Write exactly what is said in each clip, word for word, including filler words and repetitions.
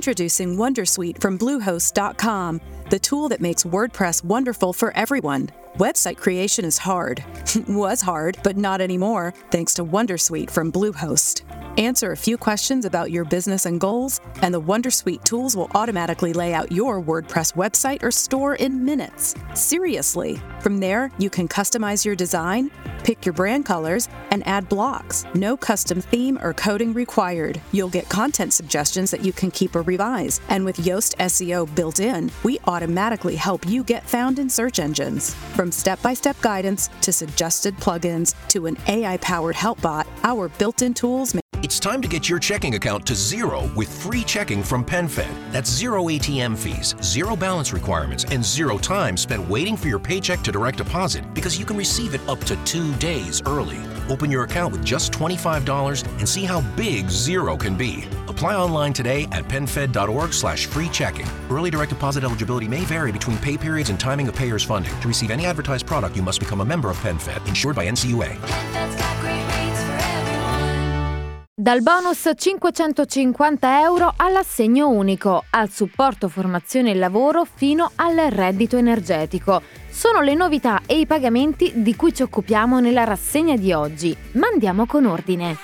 Introducing Wondersuite from Bluehost dot com, the tool that makes WordPress wonderful for everyone. Website creation is hard. Was hard, but not anymore, thanks to Wondersuite from Bluehost. Answer a few questions about your business and goals, and the Wondersuite tools will automatically lay out your WordPress website or store in minutes. Seriously. From there, you can customize your design, pick your brand colors, and add blocks. No custom theme or coding required. You'll get content suggestions that you can keep or revise. And with Yoast S E O built in, we automatically help you get found in search engines. From step-by-step guidance to suggested plugins to an A I-powered help bot, our built-in tools make It's time to get your checking account to zero with free checking from PenFed. That's zero A T M fees, zero balance requirements, and zero time spent waiting for your paycheck to direct deposit because you can receive it up to two days early. Open your account with just twenty-five dollars and see how big zero can be. Apply online today at penfed.org slash free checking. Early direct deposit eligibility may vary between pay periods and timing of payers' funding. To receive any advertised product, you must become a member of PenFed, insured by N C U A. Dal bonus cinquecentocinquanta euro all'assegno unico, al supporto formazione e lavoro fino al reddito energetico. Sono le novità e i pagamenti di cui ci occupiamo nella rassegna di oggi. Ma andiamo con ordine.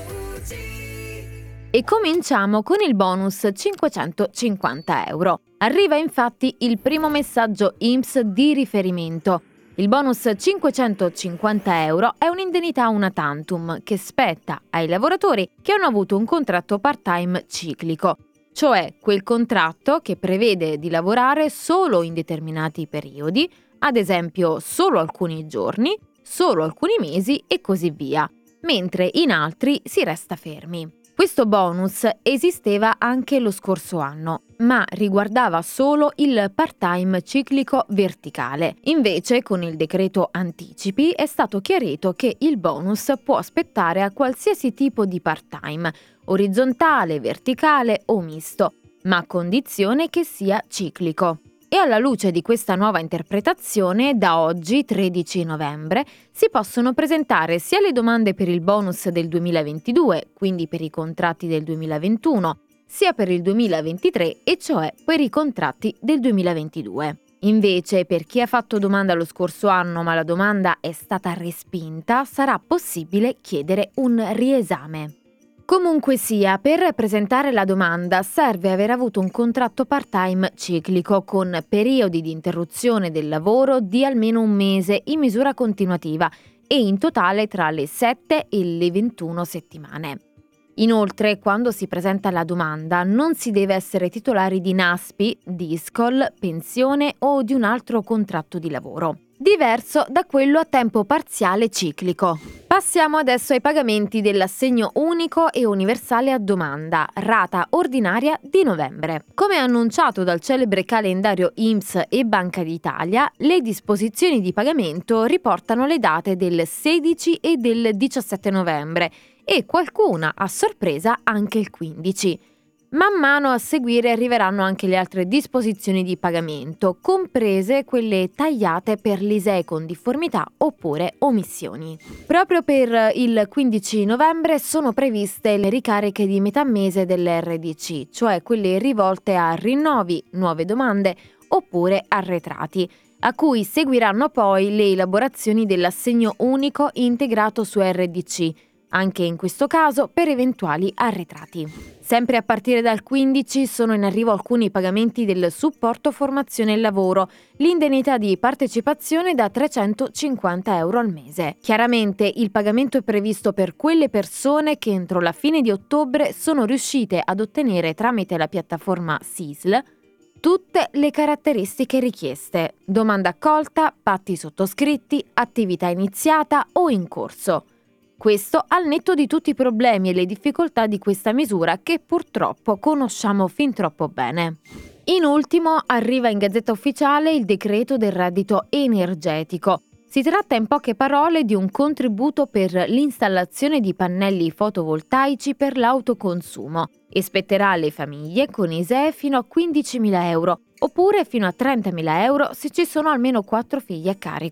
E cominciamo con il bonus cinquecentocinquanta euro. Arriva infatti il primo messaggio I N P S di riferimento. Il bonus cinquecentocinquanta euro è un'indennità una tantum che spetta ai lavoratori che hanno avuto un contratto part-time ciclico, cioè quel contratto che prevede di lavorare solo in determinati periodi, ad esempio solo alcuni giorni, solo alcuni mesi e così via, mentre in altri si resta fermi. Questo bonus esisteva anche lo scorso anno, ma riguardava solo il part-time ciclico verticale. Invece, con il decreto anticipi è stato chiarito che il bonus può aspettare a qualsiasi tipo di part-time, orizzontale, verticale o misto, ma a condizione che sia ciclico. E alla luce di questa nuova interpretazione, da oggi, tredici novembre, si possono presentare sia le domande per il bonus del duemilaventidue, quindi per i contratti del duemilaventuno, sia per il duemilaventitré, e cioè per i contratti del duemilaventidue. Invece, per chi ha fatto domanda lo scorso anno ma la domanda è stata respinta, sarà possibile chiedere un riesame. Comunque sia, per presentare la domanda serve aver avuto un contratto part-time ciclico con periodi di interruzione del lavoro di almeno un mese in misura continuativa e in totale tra le sette e le ventuno settimane. Inoltre, quando si presenta la domanda non si deve essere titolari di N A S P I, DISCOL, pensione o di un altro contratto di lavoro, diverso da quello a tempo parziale ciclico. Passiamo adesso ai pagamenti dell'assegno unico e universale a domanda, rata ordinaria di novembre. Come annunciato dal celebre calendario I N P S e Banca d'Italia, le disposizioni di pagamento riportano le date del sedici e del diciassette novembre e qualcuna, a sorpresa, anche il quindici. Man mano a seguire arriveranno anche le altre disposizioni di pagamento, comprese quelle tagliate per l'I S E E con difformità oppure omissioni. Proprio per il quindici novembre sono previste le ricariche di metà mese dell'R D C, cioè quelle rivolte a rinnovi, nuove domande oppure arretrati, a cui seguiranno poi le elaborazioni dell'assegno unico integrato su R D C, anche in questo caso per eventuali arretrati. Sempre a partire dal quindici sono in arrivo alcuni pagamenti del supporto formazione e lavoro, l'indennità di partecipazione da trecentocinquanta euro al mese. Chiaramente il pagamento è previsto per quelle persone che entro la fine di ottobre sono riuscite ad ottenere tramite la piattaforma S I S L tutte le caratteristiche richieste: domanda accolta, patti sottoscritti, attività iniziata o in corso. Questo al netto di tutti i problemi e le difficoltà di questa misura che purtroppo conosciamo fin troppo bene. In ultimo arriva in Gazzetta Ufficiale il decreto del reddito energetico. Si tratta in poche parole di un contributo per l'installazione di pannelli fotovoltaici per l'autoconsumo e spetterà alle famiglie con I S E E fino a quindicimila euro oppure fino a trentamila euro se ci sono almeno quattro figli a carico.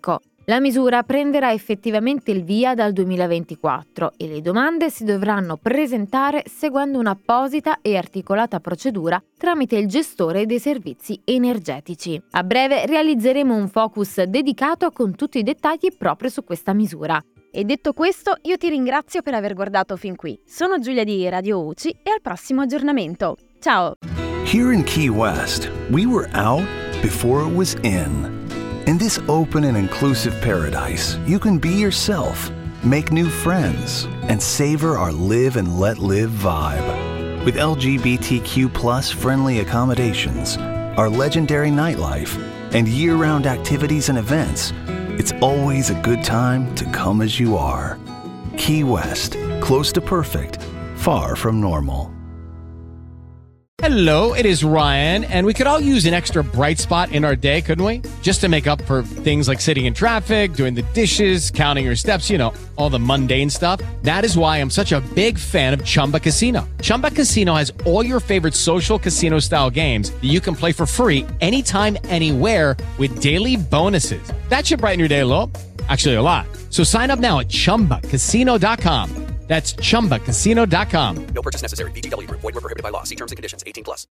La misura prenderà effettivamente il via dal duemilaventiquattro e le domande si dovranno presentare seguendo un'apposita e articolata procedura tramite il gestore dei servizi energetici. A breve realizzeremo un focus dedicato con tutti i dettagli proprio su questa misura. E detto questo, io ti ringrazio per aver guardato fin qui. Sono Giulia di Radio U C I e al prossimo aggiornamento. Ciao! Here in Key West, we were out before it was in. In this open and inclusive paradise, you can be yourself, make new friends, and savor our live and let live vibe. With L G B T Q plus friendly accommodations, our legendary nightlife, and year-round activities and events, it's always a good time to come as you are. Key West, close to perfect, far from normal. Hello, it is Ryan, and we could all use an extra bright spot in our day, couldn't we? Just to make up for things like sitting in traffic, doing the dishes, counting your steps, you know, all the mundane stuff. That is why I'm such a big fan of Chumba Casino. Chumba Casino has all your favorite social casino-style games that you can play for free anytime, anywhere with daily bonuses. That should brighten your day a little. Actually, a lot. So sign up now at chumba casino dot com. That's chumba casino dot com. No purchase necessary. V G W Group. Void where prohibited by law. See terms and conditions. eighteen plus.